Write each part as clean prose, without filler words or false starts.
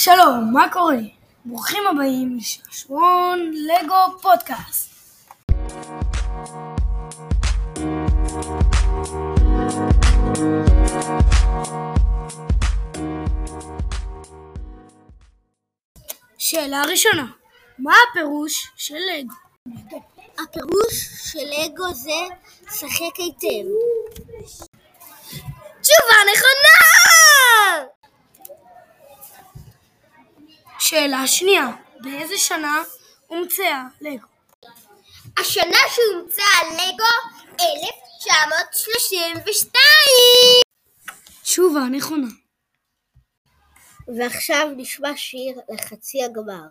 שלום, מה קורה? ברוכים הבאים לשעשועון לגו פודקאסט. שאלה ראשונה, מה הפירוש של לגו? הפירוש של לגו זה שחק היטב. תשובה נכונה! שאלה שנייה, באיזה שנה הומצאה לגו? השנה שהומצאה לגו 1932. תשובה נכונה. ועכשיו נשמע שיר לחצי הגמר.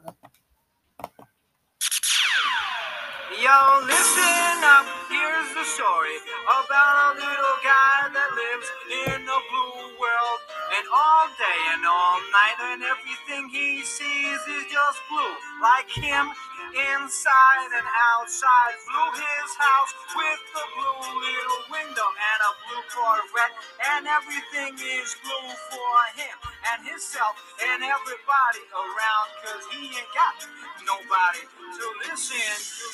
Yo, listen up, here's the story about a little guy that lives in a blue world. And all day and all night and everything he sees is just blue. Like him, inside and outside, blue his house with the blue little window and a blue Corvette. And everything is blue for him and himself and everybody around, 'cause he ain't got nobody to listen to.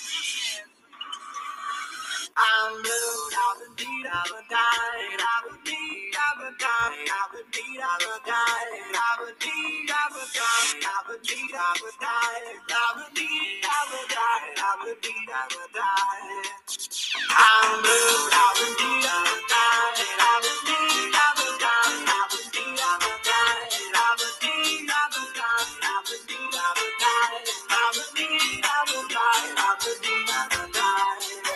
I'm blue, I'm a deed, I'm a die, I'm a deed, I'm a die, I'm a deed, I'm a die, I'm a deed, I'm a die, I'm a deed, I'm a die, I'm a deed, I'm a die, I'm a deed, I'm a die. I'm blue, I'm a deed, I'm a die, I'm a deed, I'm a die, I'm a deed, I'm a die, I'm a deed, I'm a die, I'm a deed, I'm a die, I'm a deed, I'm a die, I'm a deed, I'm a die.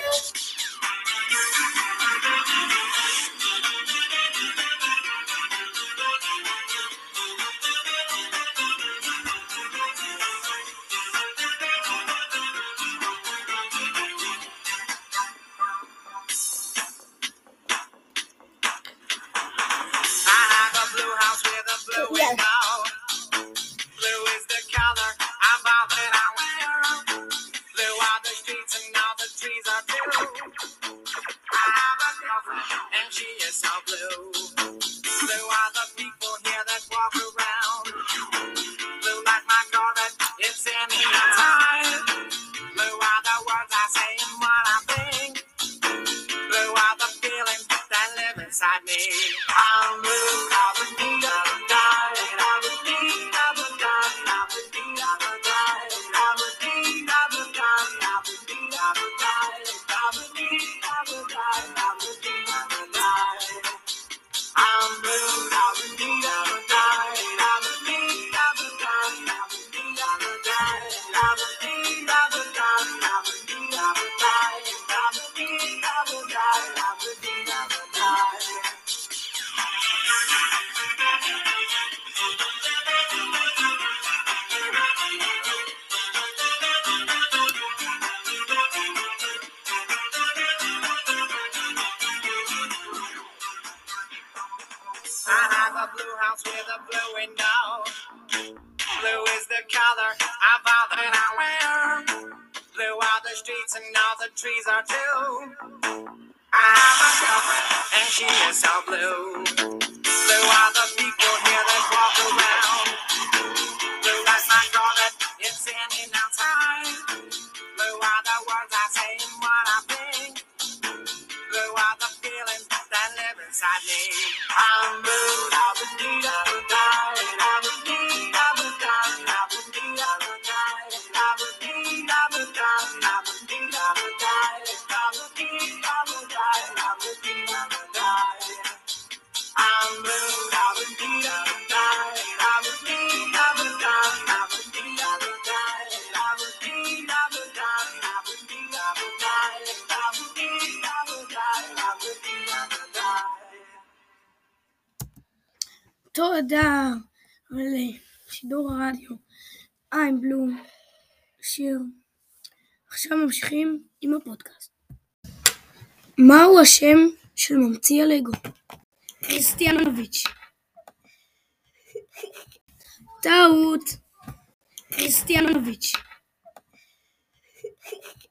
Blue is the color I'm about that I wear. Blue are the streets and all the trees are blue. I have a girlfriend and she is so blue. Blue are the people here that walk around. Blue like my Corvette, it's any time. Blue are the words I say and what I think. Blue are the feelings that live inside me. I'm blue, I'm a deed, I'm a die, I'm a deed, I'm a die, I'm a deed, I'm a die, I'm a deed, I'm a die, I'm a deed, I'm a die, I'm a deed, I'm a die, I'm a deed, I'm a die. I'm blue, I'm a deed, I'm a die, I'm a deed, I'm a die, I'm a deed, I'm a die, I'm a deed, I'm a die, I'm a deed, I'm a die, I'm a deed, I'm a die, I'm a deed, I'm a die. I have a blue house with a blue window. Blue is the color of all that I wear. Blue are the streets and all the trees are too. I have a girlfriend and she is so blue. Blue are the people here that walk around. Blue like my Corvette, it's any now time. Blue are the words I say and what I think. Blue are the feelings that live inside me. I'm blue, I'm a deed, I'm a die, I'm a deed, I'm a die, I'm a deed, I'm a die, I'm a deed, I'm a die, I'm a deed, I'm a die, I'm a deed, I'm a die, I'm a deed, I'm a die. I'm blue, I'm a deed, I'm a die, I'm a deed, I'm a die, I'm a deed, I'm a die, I'm a deed, I'm a die, I'm a deed, I'm a die, I'm a deed, I'm a die, I'm a deed, I'm a die. תודה על שידור הרדיו I'm Blue, שיר. עכשיו ממשיכים עם הפודקאסט. מהו השם של ממציא הלגו? קריסטיאנוביץ'. טעות. קריסטיאנוביץ'.